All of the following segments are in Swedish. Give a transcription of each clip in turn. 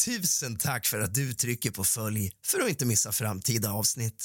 Tusen tack för att du trycker på följ för att inte missa framtida avsnitt.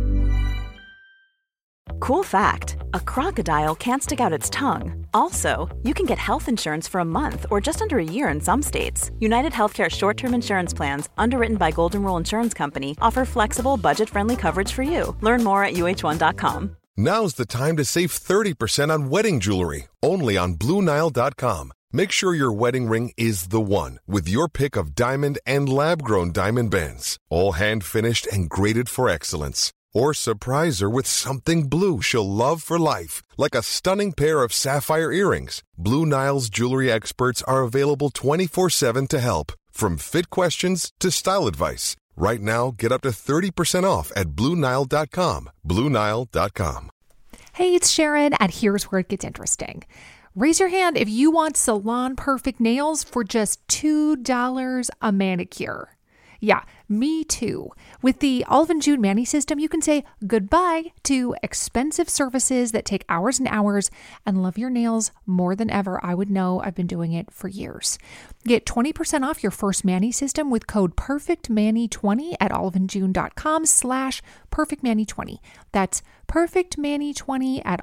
Cool fact, a crocodile can't stick out its tongue. Also, you can get health insurance for a month or just under a year in some states. United Healthcare short-term insurance plans, underwritten by Golden Rule Insurance Company, offer flexible, budget-friendly coverage for you. Learn more at uh1.com. Now's the time to save 30% on wedding jewelry, only on BlueNile.com. Make sure your wedding ring is the one with your pick of diamond and lab-grown diamond bands, all hand-finished and graded for excellence. Or surprise her with something blue she'll love for life, like a stunning pair of sapphire earrings. Blue Nile's jewelry experts are available 24/7 to help, from fit questions to style advice. Right now, get up to 30% off at BlueNile.com. BlueNile.com. Hey, it's Sharon, and here's where it gets interesting. Raise your hand if you want salon perfect nails for just $2 a manicure. Yeah, me too. With the Olive & June Mani system, you can say goodbye to expensive services that take hours and hours and love your nails more than ever. I would know. I've been doing it for years. Get 20% off your first Mani system with code PERFECTMANI20 at oliveandjune.com/PERFECTMANI20. That's PERFECTMANI20 at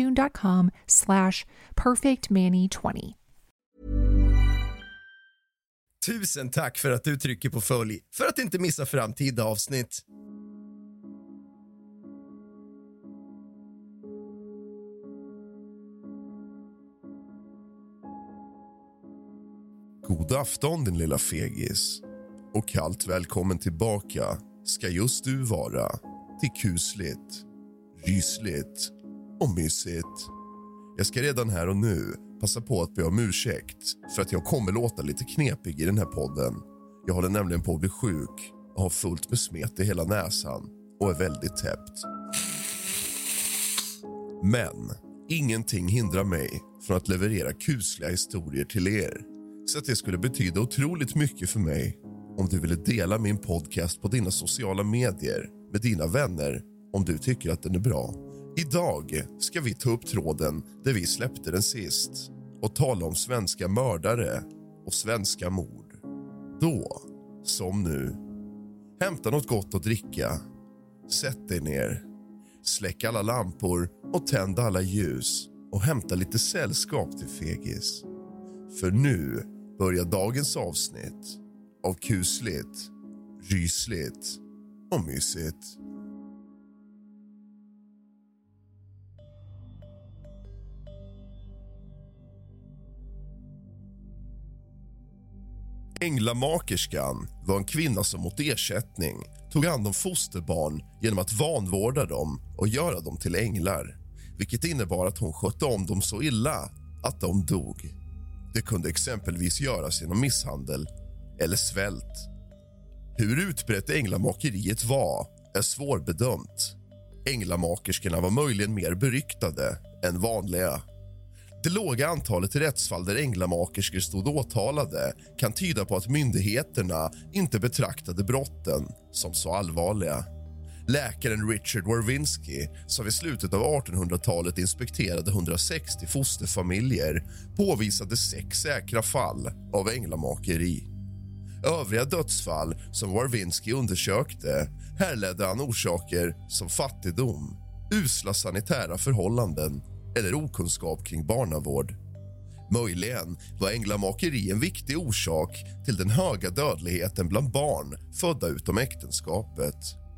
oliveandjune.com/PERFECTMANI20. Tusen tack för att du trycker på följ för att inte missa framtida avsnitt. God afton din lilla fegis. Och kallt välkommen tillbaka ska just du vara till kusligt, rysligt och mysigt. Jag ska redan här och nu passa på att be om ursäkt för att jag kommer låta lite knepig i den här podden. Jag håller nämligen på att bli sjuk och har fullt med smet i hela näsan och är väldigt täppt. Men ingenting hindrar mig från att leverera kusliga historier till er. Så att det skulle betyda otroligt mycket för mig om du ville dela min podcast på dina sociala medier med dina vänner om du tycker att den är bra. Idag ska vi ta upp tråden där vi släppte den sist och tala om svenska mördare och svenska mord. Då, som nu, hämta något gott att dricka, sätt dig ner, släck alla lampor och tänd alla ljus och hämta lite sällskap till fegis. För nu börjar dagens avsnitt av kusligt, rysligt och mysigt. Änglamakerskan var en kvinna som mot ersättning tog hand om fosterbarn genom att vanvårda dem och göra dem till änglar, vilket innebar att hon skötte om dem så illa att de dog. Det kunde exempelvis göras genom misshandel eller svält. Hur utbrett änglamakeriet var är svårbedömt. Änglamakerskorna var möjligen mer beryktade än vanliga. Det låga antalet rättsfall där änglamakerskor stod åtalade kan tyda på att myndigheterna inte betraktade brotten som så allvarliga. Läkaren Richard Warwinski, som vid slutet av 1800-talet inspekterade 160 fosterfamiljer, påvisade 6 säkra fall av änglamakeri. Övriga dödsfall som Warwinski undersökte härledde han orsaker som fattigdom, usla sanitära förhållanden eller okunskap kring barnavård. Möjligen var änglamakeri en viktig orsak till den höga dödligheten bland barn födda utom äktenskapet.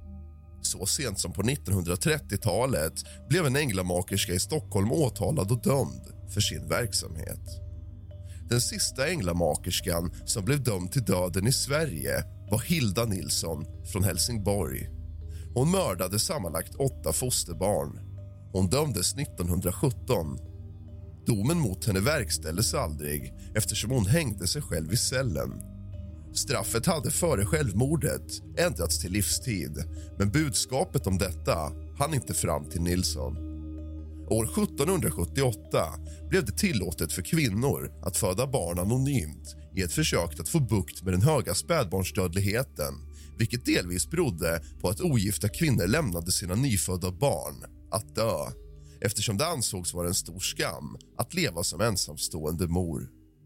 Så sent som på 1930-talet blev en änglamakerska i Stockholm åtalad och dömd för sin verksamhet. Den sista änglamakerskan som blev dömd till döden i Sverige var Hilda Nilsson från Helsingborg. Hon mördade sammanlagt 8 fosterbarn. Hon dömdes 1917. Domen mot henne verkställdes aldrig eftersom hon hängde sig själv i cellen. Straffet hade före självmordet ändrats till livstid, men budskapet om detta hann inte fram till Nilsson. År 1778 blev det tillåtet för kvinnor att föda barn anonymt i ett försök att få bukt med den höga spädbarnsdödligheten, vilket delvis berodde på att ogifta kvinnor lämnade sina nyfödda barn att dö, eftersom det ansågs vara en stor skam att leva som ensamstående mor.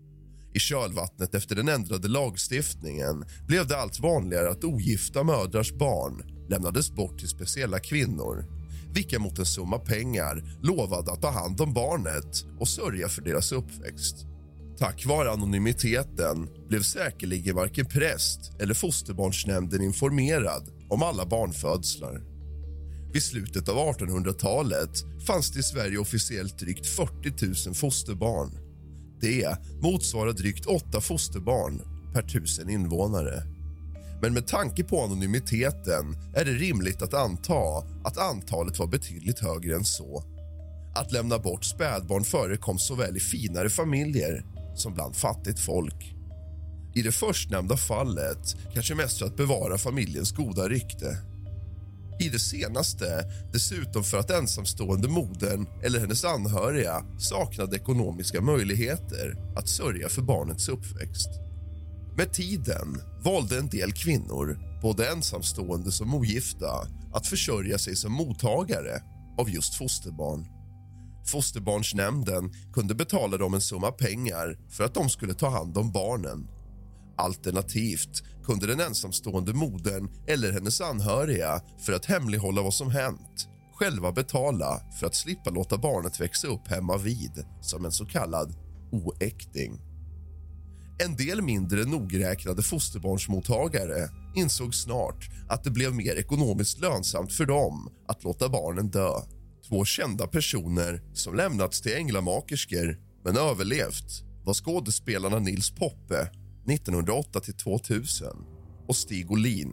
I kölvattnet efter den ändrade lagstiftningen blev det allt vanligare att ogifta mödrars barn lämnades bort till speciella kvinnor, vilka mot en summa pengar lovade att ta hand om barnet och sörja för deras uppväxt. Tack vare anonymiteten blev säkerligen varken präst eller fosterbarnsnämnden informerad om alla barnfödslar. Vid slutet av 1800-talet fanns det i Sverige officiellt drygt 40 000 fosterbarn. Det motsvarar drygt 8 fosterbarn per 1000 invånare. Men med tanke på anonymiteten är det rimligt att anta att antalet var betydligt högre än så. Att lämna bort spädbarn förekom såväl i finare familjer som bland fattigt folk. I det förstnämnda fallet kanske mest för att bevara familjens goda rykte. I det senaste dessutom för att ensamstående modern eller hennes anhöriga saknade ekonomiska möjligheter att sörja för barnets uppväxt. Med tiden valde en del kvinnor, både ensamstående som ogifta, att försörja sig som mottagare av just fosterbarn. Fosterbarnsnämnden kunde betala dem en summa pengar för att de skulle ta hand om barnen. Alternativt kunde den ensamstående modern eller hennes anhöriga, för att hemlighålla vad som hänt, själva betala för att slippa låta barnet växa upp hemma vid som en så kallad oäkting. En del mindre nogräknade fosterbarnsmottagare insåg snart att det blev mer ekonomiskt lönsamt för dem att låta barnen dö. 2 kända personer som lämnats till änglamakerskor men överlevt var skådespelarna Nils Poppe 1908-2000 och Stig Olin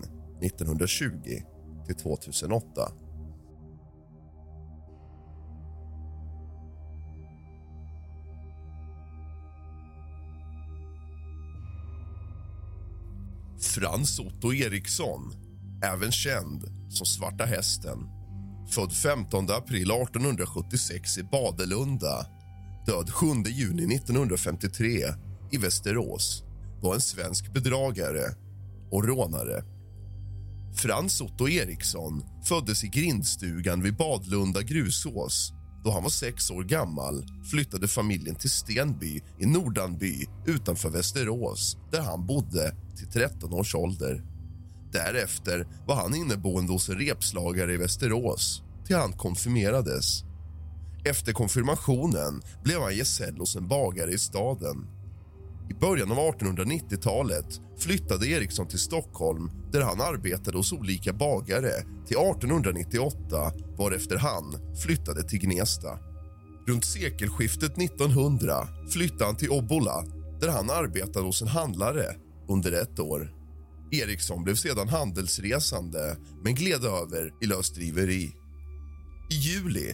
1920-2008. Frans Otto Eriksson, även känd som Svarta hästen, född 15 april 1876 i Badelunda, död 7 juni 1953 i Västerås, var en svensk bedragare och rånare. Frans Otto Eriksson föddes i grindstugan vid Badlunda grusås. Då han var 6 år gammal flyttade familjen till Stenby i Nordanby utanför Västerås, där han bodde till 13 års ålder. Därefter var han inneboende hos en repslagare i Västerås till han konfirmerades. Efter konfirmationen blev han gesäll hos en bagare i staden. I början av 1890-talet flyttade Eriksson till Stockholm, där han arbetade hos olika bagare till 1898, varefter han flyttade till Gnesta. Runt sekelskiftet 1900 flyttade han till Obbola, där han arbetade hos en handlare under 1 år. Eriksson blev sedan handelsresande men gled över i lösdriveri. I juli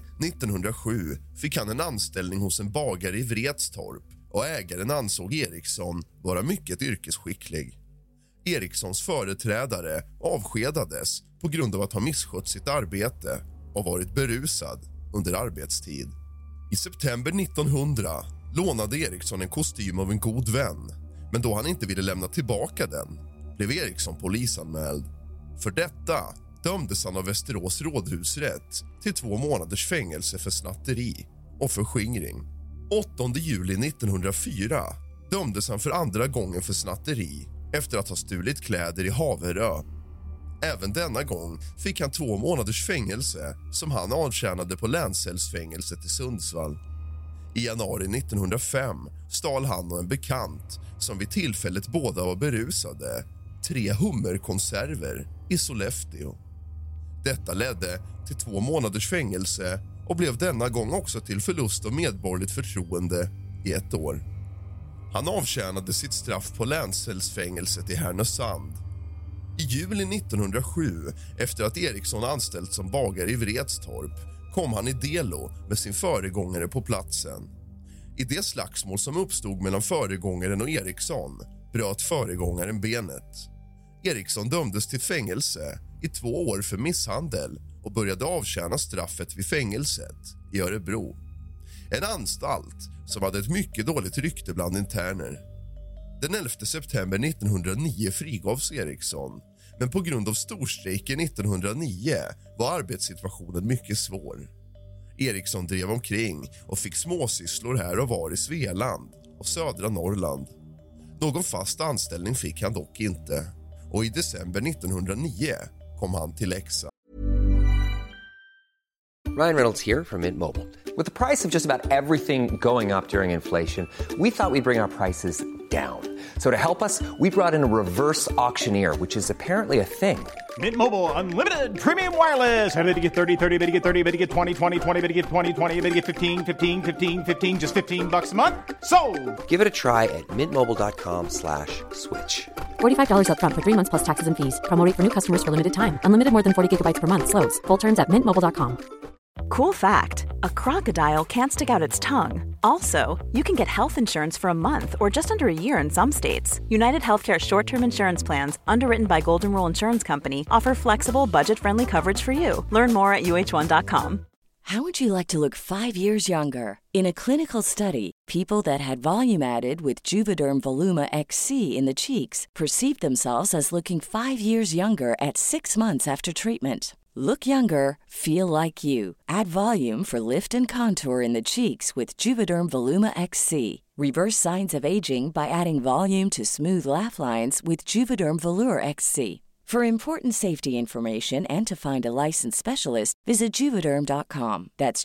1907 fick han en anställning hos en bagare i Vretstorp och ägaren ansåg Eriksson vara mycket yrkesskicklig. Erikssons företrädare avskedades på grund av att ha misskött sitt arbete och varit berusad under arbetstid. I september 1900 lånade Eriksson en kostym av en god vän, men då han inte ville lämna tillbaka den blev Eriksson polisanmäld. För detta dömdes han av Västerås rådhusrätt till 2 månaders fängelse för snatteri och förskingring. 8 juli 1904 dömdes han för andra gången för snatteri efter att ha stulit kläder i Haverö. Även denna gång fick han 2 månaders fängelse som han avtjänade på länscellsfängelset i Sundsvall. I januari 1905 stal han och en bekant, som vid tillfället båda var berusade, 3 hummerkonserver i Sollefteå. Detta ledde till 2 månaders fängelse och blev denna gång också till förlust av medborgerligt förtroende i 1 år. Han avtjänade sitt straff på länscellsfängelset i Härnösand. I juli 1907, efter att Eriksson anställts som bagare i Vretstorp, kom han i delo med sin föregångare på platsen. I det slagsmål som uppstod mellan föregångaren och Eriksson bröt föregångaren benet. Eriksson dömdes till fängelse i 2 år för misshandel och började avtjäna straffet vid fängelset i Örebro. En anstalt som hade ett mycket dåligt rykte bland interner. Den 11 september 1909 frigavs Eriksson, men på grund av storstrejken 1909 var arbetssituationen mycket svår. Eriksson drev omkring och fick småsysslor här och var i Svealand och södra Norrland. Någon fast anställning fick han dock inte och i december 1909 kom han till Leksand. Ryan Reynolds here from Mint Mobile. With the price of just about everything going up during inflation, we thought we'd bring our prices down. So to help us, we brought in a reverse auctioneer, which is apparently a thing. Mint Mobile Unlimited Premium Wireless. How to get 30, 30, bit to get 30, bit to get 20, 20, 20, bit to get 20, 20, bit to get 15, 15, 15, 15, just $15 a month? Sold! Give it a try at mintmobile.com/switch. $45 up front for 3 months plus taxes and fees. Promo rate for new customers for limited time. Unlimited more than 40 gigabytes per month. Slows full terms at mintmobile.com. Cool fact, a crocodile can't stick out its tongue. Also, you can get health insurance for a month or just under a year in some states. United Healthcare short-term insurance plans, underwritten by Golden Rule Insurance Company, offer flexible, budget-friendly coverage for you. Learn more at uh1.com. How would you like to look 5 years younger? In a clinical study, people that had volume added with Juvederm Voluma XC in the cheeks perceived themselves as looking 5 years younger at 6 months after treatment. Look younger, feel like you. Add volume for lift and contour in the cheeks with Juvederm Voluma XC. Reverse signs of aging by adding volume to smooth laugh lines with Juvederm Volure XC. For important safety information and to find a licensed specialist, visit Juvederm.com. That's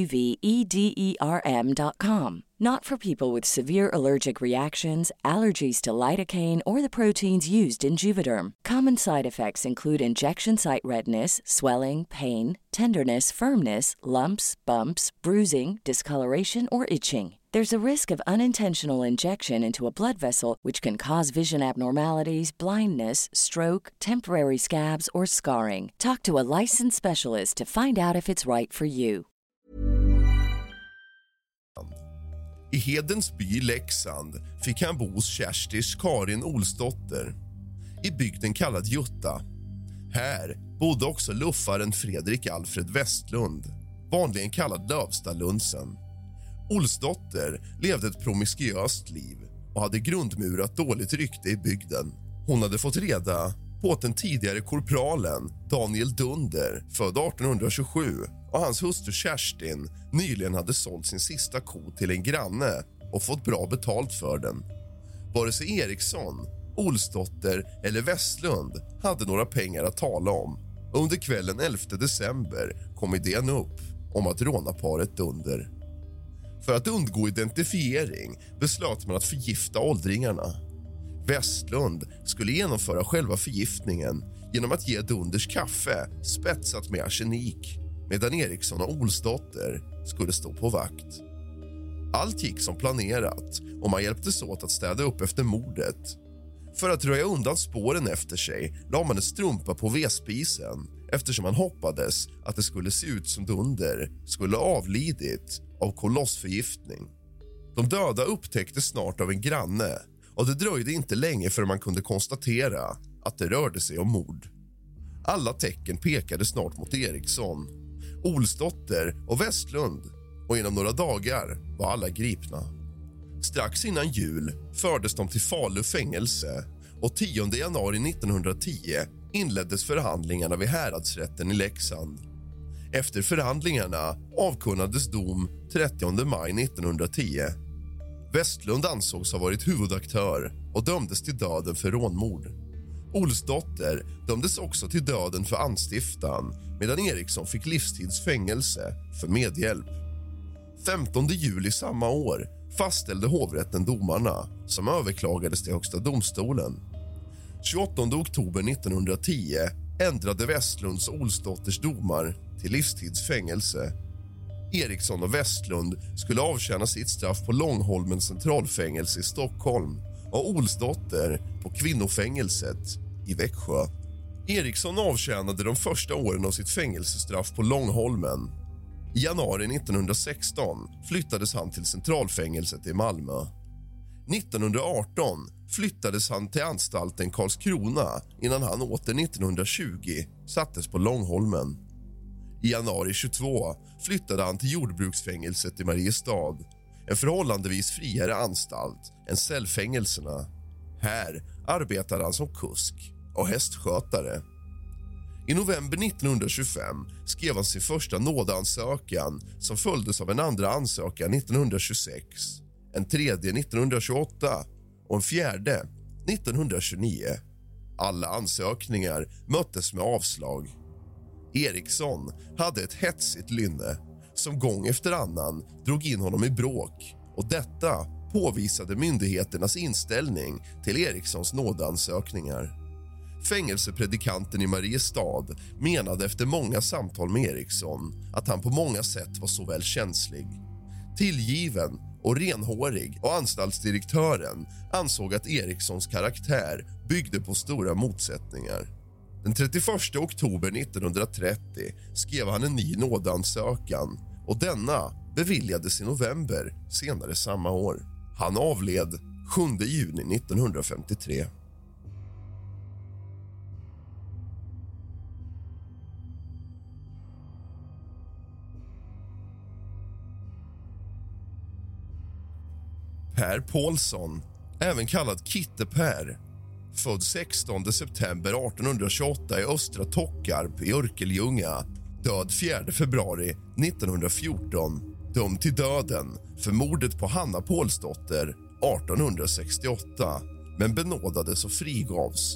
JUVEDERM.com. Not for people with severe allergic reactions, allergies to lidocaine, or the proteins used in Juvederm. Common side effects include injection site redness, swelling, pain, tenderness, firmness, lumps, bumps, bruising, discoloration, or itching. There's a risk of unintentional injection into a blood vessel, which can cause vision abnormalities, blindness, stroke, temporary scabs, or scarring. Talk to a licensed specialist to find out if it's right for you. I Hedensby, Leksand, fick han bo hos Kerstis Karin Olsdotter i bygden kallad Jutta. Här bodde också luffaren Fredrik Alfred Westlund, vanligen kallad Lövstalundsen. Olsdotter levde ett promiskuöst liv och hade grundmurat dåligt rykte i bygden. Hon hade fått reda på att den tidigare korpralen Daniel Dunder, född 1827, och hans hustru Kerstin nyligen hade sålt sin sista ko till en granne och fått bra betalt för den. Vare sig Eriksson, Olsdotter eller Westlund hade några pengar att tala om. Under kvällen 11 december kom idén upp om att råna paret Dunder. För att undgå identifiering beslöt man att förgifta åldringarna. Westlund skulle genomföra själva förgiftningen genom att ge Dunders kaffe spetsat med arsenik, medan Eriksson och Olsdotter skulle stå på vakt. Allt gick som planerat och man hjälptes åt att städa upp efter mordet. För att röja undan spåren efter sig la man en strumpa på vedspisen, eftersom man hoppades att det skulle se ut som Dunder skulle ha avlidit av kolossförgiftning. De döda upptäcktes snart av en granne och det dröjde inte länge förrän man kunde konstatera att det rörde sig om mord. Alla tecken pekade snart mot Eriksson, Olsdotter och Westlund, och inom några dagar var alla gripna. Strax innan jul fördes de till Falu fängelse och 10 januari 1910 inleddes förhandlingarna vid häradsrätten i Leksand. Efter förhandlingarna avkunnades dom 30 maj 1910. Westlund ansågs ha varit huvudaktör och dömdes till döden för rånmord. Olsdotter dömdes också till döden för anstiftan, medan Eriksson fick livstidsfängelse för medhjälp. 15 juli samma år fastställde hovrätten domarna, som överklagades till Högsta domstolen. 28 oktober 1910 ändrade Westlunds och Olsdotters domar till livstidsfängelse. Eriksson och Westlund skulle avtjäna sitt straff på Långholmens centralfängelse i Stockholm och Olsdotter på kvinnofängelset i Växjö. Eriksson avtjänade de första åren av sitt fängelsestraff på Långholmen. I januari 1916 flyttades han till centralfängelset i Malmö. 1918 flyttades han till anstalten Karlskrona innan han åter 1920 sattes på Långholmen. I januari 22 flyttade han till jordbruksfängelset i Mariestad, en förhållandevis friare anstalt än cellfängelserna. Här arbetade han som kusk och hästskötare. I november 1925 skrev han sin första nådeansökan som följdes av en andra ansökan 1926, en tredje 1928 och en fjärde 1929. Alla ansökningar möttes med avslag. Eriksson hade ett hetsigt lynne som gång efter annan drog in honom i bråk, och detta påvisade myndigheternas inställning till Erikssons nådeansökningar. Fängelsepredikanten i Mariestad menade efter många samtal med Eriksson att han på många sätt var såväl känslig, tillgiven och renhårig, och anstaltsdirektören ansåg att Erikssons karaktär byggde på stora motsättningar. Den 31 oktober 1930 skrev han en ny nådeansökan, och denna beviljades i november senare samma år. Han avled 7 juni 1953. Per Paulsson, även kallad Kitte Per, född 16 september 1828 i Östra Tockarp i Örkelljunga, död 4 februari 1914, dömd till döden för mordet på Hanna Paulsdotter 1868, men benådades och frigavs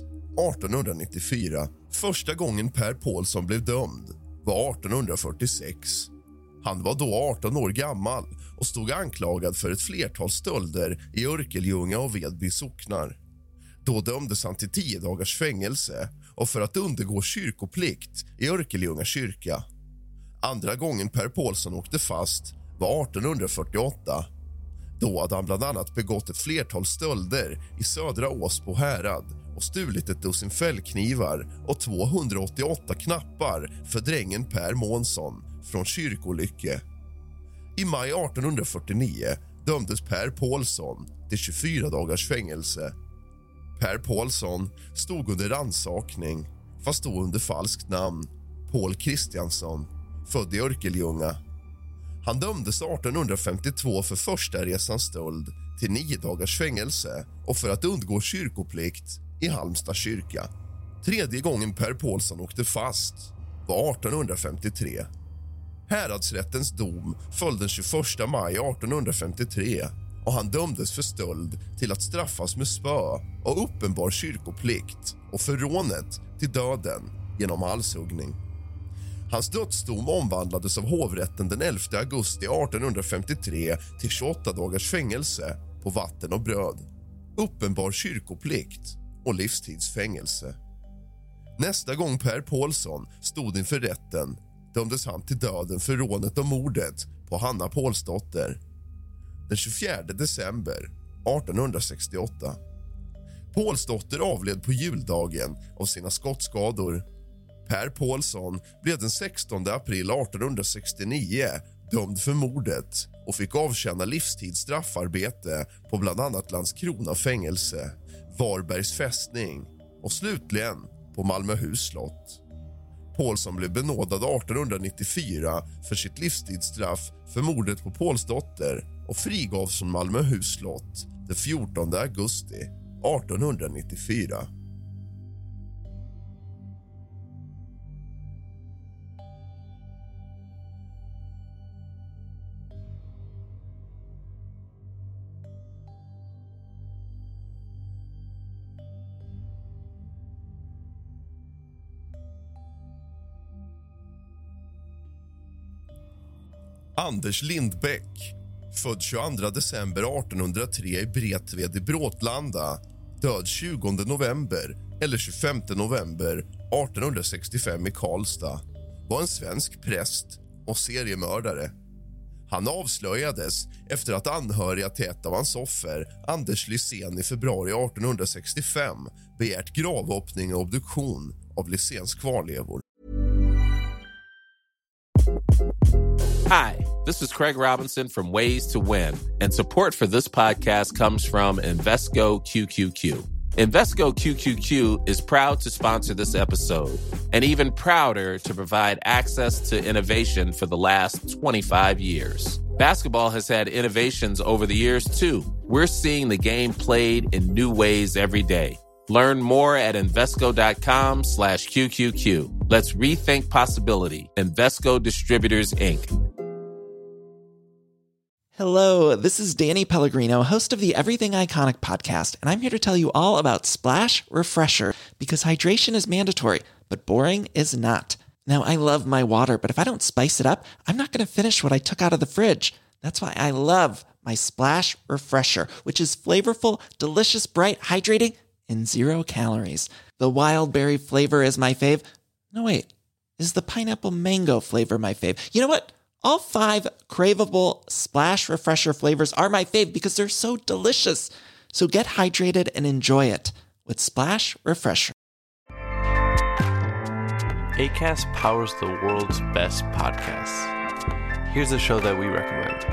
1894. Första gången Per Paulsson blev dömd var 1846. Han var då 18 år gammal och stod anklagad för ett flertal stölder i Örkelljunga och Vedby socknar. Då dömdes han till 10 dagars fängelse och för att undergå kyrkoplikt i Örkelljunga kyrka. Andra gången Per Paulsson åkte fast var 1848. Då hade han bland annat begått ett flertal stölder i Södra Åsbo härad och stulit ett dussin fällknivar och 288 knappar för drängen Per Månsson från Kyrkolycke. I maj 1849 dömdes Per Paulsson till 24 dagars fängelse. Per Paulsson stod under rannsakning, fast då under falskt namn, Paul Kristiansson, född i Örkelljunga. Han dömdes 1852 för första resans stöld till 9 dagars fängelse och för att undgå kyrkoplikt i Halmstad kyrka. Tredje gången Per Paulsson åkte fast var 1853. Häradsrättens dom föll den 21 maj 1853 och han dömdes för stöld till att straffas med spö och uppenbar kyrkoplikt och för rånet till döden genom halshuggning. Hans dödsdom omvandlades av hovrätten den 11 augusti 1853 till 28 dagars fängelse på vatten och bröd, uppenbar kyrkoplikt och livstidsfängelse. Nästa gång Per Paulsson stod inför rätten dömdes han till döden för rånet och mordet på Hanna Paulsdotter den 24 december 1868. Paulsdotter avled på juldagen av sina skottskador. Per Paulsson blev den 16 april 1869 dömd för mordet och fick avtjäna livstidsstraffarbete på bland annat Landskrona fängelse, Varbergs fästning och slutligen på Malmöhus slott. Paulsson blev benådad 1894 för sitt livstidsstraff för mordet på Paulsdotter och frigavs från Malmöhus slott den 14 augusti 1894. Anders Lindbäck, född 22 december 1803 i Bretved i Bråtlanda, död 20 november eller 25 november 1865 i Karlstad, var en svensk präst och seriemördare. Han avslöjades efter att anhöriga till ett av hans offer, Anders Lysén, i februari 1865 begärt gravöppning och obduktion av Lyséns kvarlevor. Hi, this is Craig Robinson from Ways to Win, and support for this podcast comes from Invesco QQQ. Invesco QQQ is proud to sponsor this episode, and even prouder to provide access to innovation for the last 25 years. Basketball has had innovations over the years, too. We're seeing the game played in new ways every day. Learn more at Invesco.com/QQQ. Let's rethink possibility. Invesco Distributors, Inc. Hello, this is Danny Pellegrino, host of the Everything Iconic podcast, and I'm here to tell you all about Splash Refresher, because hydration is mandatory, but boring is not. Now, I love my water, but if I don't spice it up, I'm not going to finish what I took out of the fridge. That's why I love my Splash Refresher, which is flavorful, delicious, bright, hydrating, and 0 calories. The wild berry flavor is my fave. No, wait, is the pineapple mango flavor my fave? You know what? All 5 craveable Splash Refresher flavors are my fave because they're so delicious. So get hydrated and enjoy it with Splash Refresher. Acast powers the world's best podcasts. Here's a show that we recommend.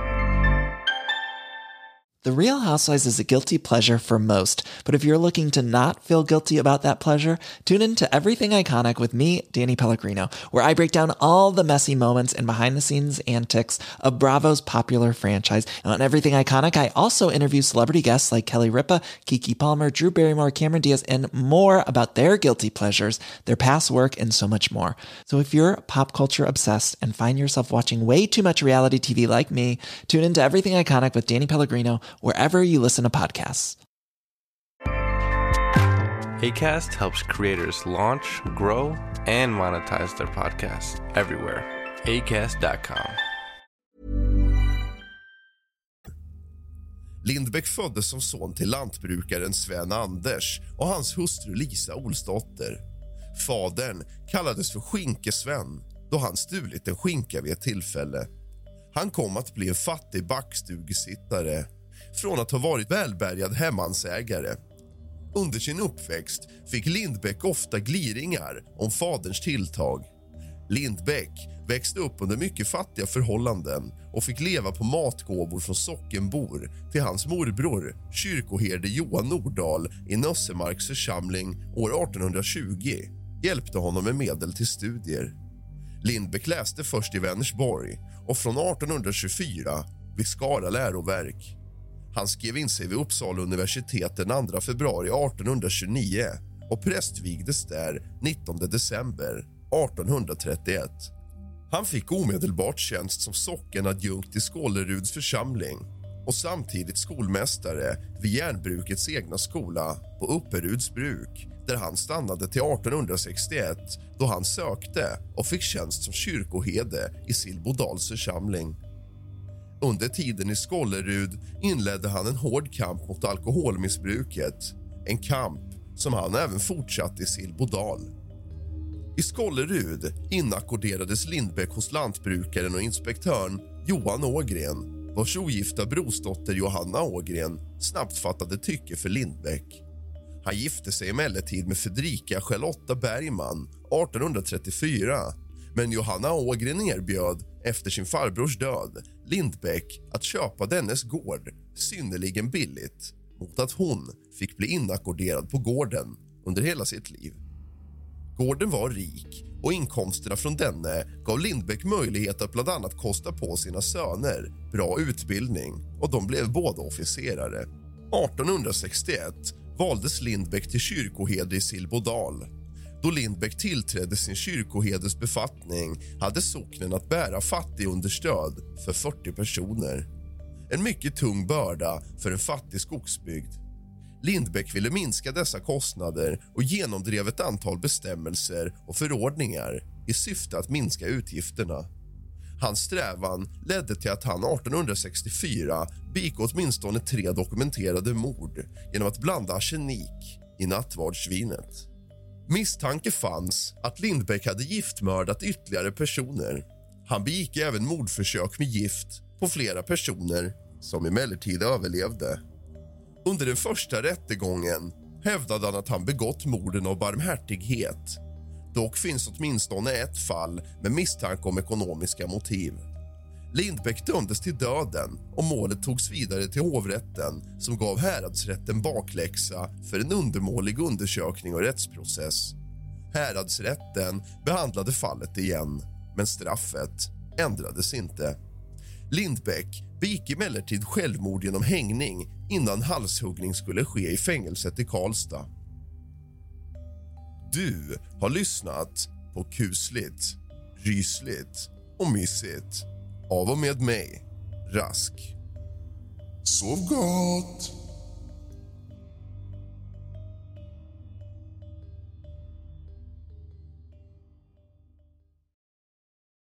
The Real Housewives is a guilty pleasure for most, but if you're looking to not feel guilty about that pleasure, tune in to Everything Iconic with me, Danny Pellegrino, where I break down all the messy moments and behind-the-scenes antics of Bravo's popular franchise. And on Everything Iconic, I also interview celebrity guests like Kelly Ripa, Keke Palmer, Drew Barrymore, Cameron Diaz, and more about their guilty pleasures, their past work, and so much more. So if you're pop culture obsessed and find yourself watching way too much reality TV like me, tune in to Everything Iconic with Danny Pellegrino, wherever you listen to podcasts. Acast helps creators launch, grow, and monetize their podcasts everywhere. Acast.com. Lindbäck föddes som son till lantbrukaren Sven Anders och hans hustru Lisa Olsdotter. Fadern kallades för Skinkesven då han stulit en skinka vid ett tillfälle. Han kom att bli en fattig backstugesittare från att ha varit välbärgad hemmansägare. Under sin uppväxt fick Lindbäck ofta gliringar om faderns tilltag. Lindbäck växte upp under mycket fattiga förhållanden och fick leva på matgåvor från sockenbor till hans morbror, kyrkoherde Johan Nordahl i Nössemarks församling år 1820, hjälpte honom med medel till studier. Lindbäck läste först i Vänersborg och från 1824 vid Skara läroverk. Han skrev in sig vid Uppsala universitet den 2 februari 1829 och prästvigdes där 19 december 1831. Han fick omedelbart tjänst som sockenadjunkt i Skåleruds församling och samtidigt skolmästare vid järnbrukets egna skola på Upperuds bruk, där han stannade till 1861 då han sökte och fick tjänst som kyrkoherde i Silbodals församling. Under tiden i Skålerud inledde han en hård kamp mot alkoholmissbruket, en kamp som han även fortsatte i Silbodal. I Skålerud inackorderades Lindbäck hos lantbrukaren och inspektören Johan Ågren, vars ogifta brorsdotter Johanna Ågren snabbt fattade tycke för Lindbäck. Han gifte sig emellertid med Fredrika Charlotta Bergman 1834, men Johanna Ågren erbjöd efter sin farbrors död Lindbäck att köpa dennes gård synnerligen billigt mot att hon fick bli inackorderad på gården under hela sitt liv. Gården var rik och inkomsterna från denne gav Lindbäck möjlighet att bland annat kosta på sina söner bra utbildning och de blev båda officerare. 1861 valdes Lindbäck till kyrkoherde i Silbodal. Då Lindbäck tillträdde sin kyrkoherdes befattning hade socknen att bära fattigunderstöd för 40 personer. En mycket tung börda för en fattig skogsbygd. Lindbäck ville minska dessa kostnader och genomdrev ett antal bestämmelser och förordningar i syfte att minska utgifterna. Hans strävan ledde till att han 1864 begick åtminstone 3 dokumenterade mord genom att blanda arsenik i nattvardsvinet. Misstanke fanns att Lindbäck hade giftmördat ytterligare personer. Han begick även mordförsök med gift på flera personer som emellertid överlevde. Under den första rättegången hävdade han att han begått morden av barmhärtighet. Dock finns åtminstone ett fall med misstanke om ekonomiska motiv. Lindbäck dömdes till döden och målet togs vidare till hovrätten som gav häradsrätten bakläxa för en undermålig undersökning och rättsprocess. Häradsrätten behandlade fallet igen, men straffet ändrades inte. Lindbäck begick emellertid självmord genom hängning innan halshuggning skulle ske i fängelset i Karlstad. Du har lyssnat på Kusligt, Rysligt och Mysigt av och med mig, Rask. Sov gott!